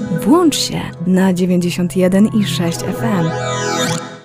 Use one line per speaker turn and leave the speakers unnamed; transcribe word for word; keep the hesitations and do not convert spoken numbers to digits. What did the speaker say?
Włącz się na dziewięćdziesiąt jeden i sześć F M.